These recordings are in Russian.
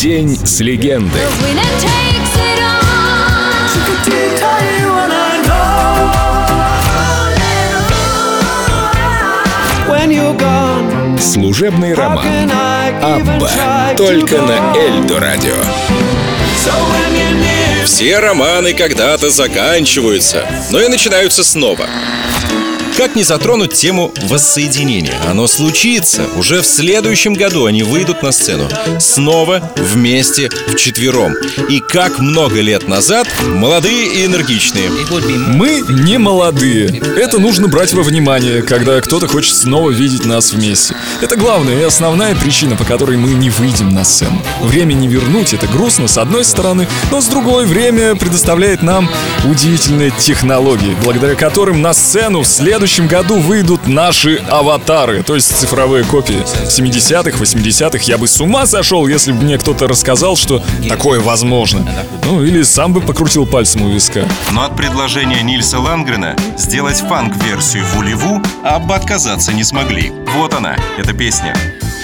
День с легендой. Служебный роман «Абба» только на Эльдо радио. Все романы когда-то заканчиваются, но и начинаются снова. Как не затронуть тему воссоединения? Оно случится. Уже в следующем году они выйдут на сцену. Снова вместе, вчетвером. И как много лет назад, молодые и энергичные. Мы не молодые. Это нужно брать во внимание, когда кто-то хочет снова видеть нас вместе. Это главная и основная причина, по которой мы не выйдем на сцену. Время не вернуть, это грустно с одной стороны, но с другой время предоставляет нам удивительные технологии, благодаря которым на сцену в следующем году выйдут наши аватары, то есть цифровые копии 70-х, 80-х. Я бы с ума сошел, если бы мне кто-то рассказал, что такое возможно. Ну, или сам бы покрутил пальцем у виска. Но от предложения Нильса Лангрена сделать фанк-версию Вулеву Абба отказаться не смогли. Вот она, эта песня.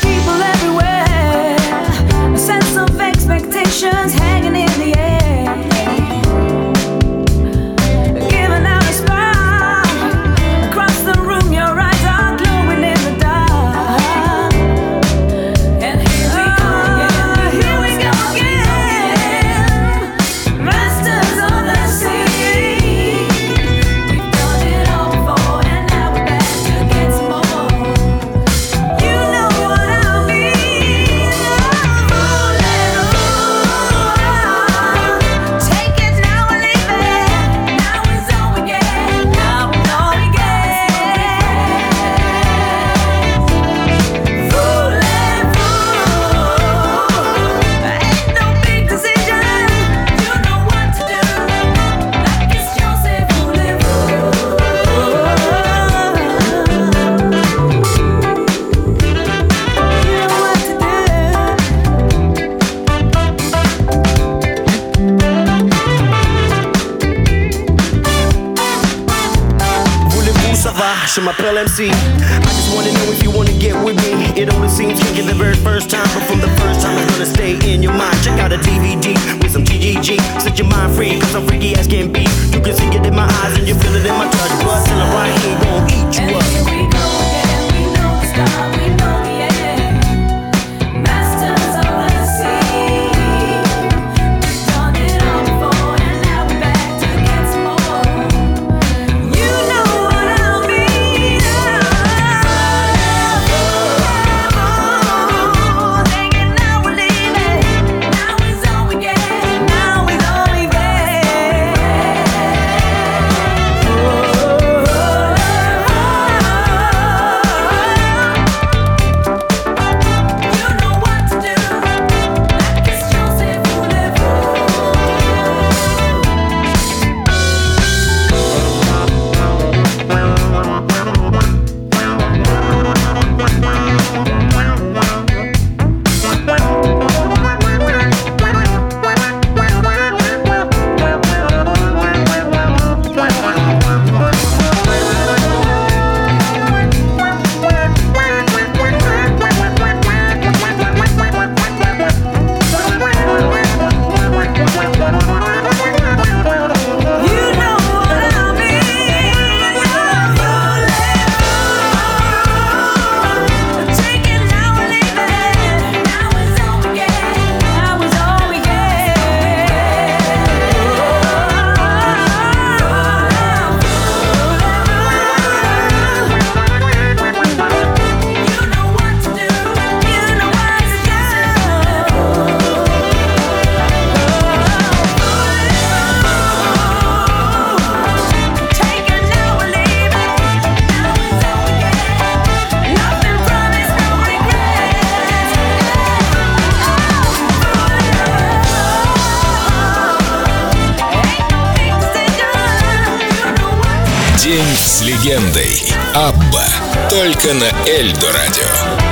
Je m'appelle MC. I just wanna know if you wanna get with me. It only seems kinky the very first time, but from the first time it's gonna stay in your mind. Check out a DVD with some TGG. Set your mind free, cause I'm freaky as can be. You can see it in my eyes and you feel it in my touch. But till I'm right here, gon' eat you up. Here we go again, we know the start, we know the end. Masters of the sea. We've done it all before and now we're back to get some more. You know what I mean. Thinking now we're leaving. Now is all we get. Now is all we get. День с легендой. Абба только на Эльдо радио.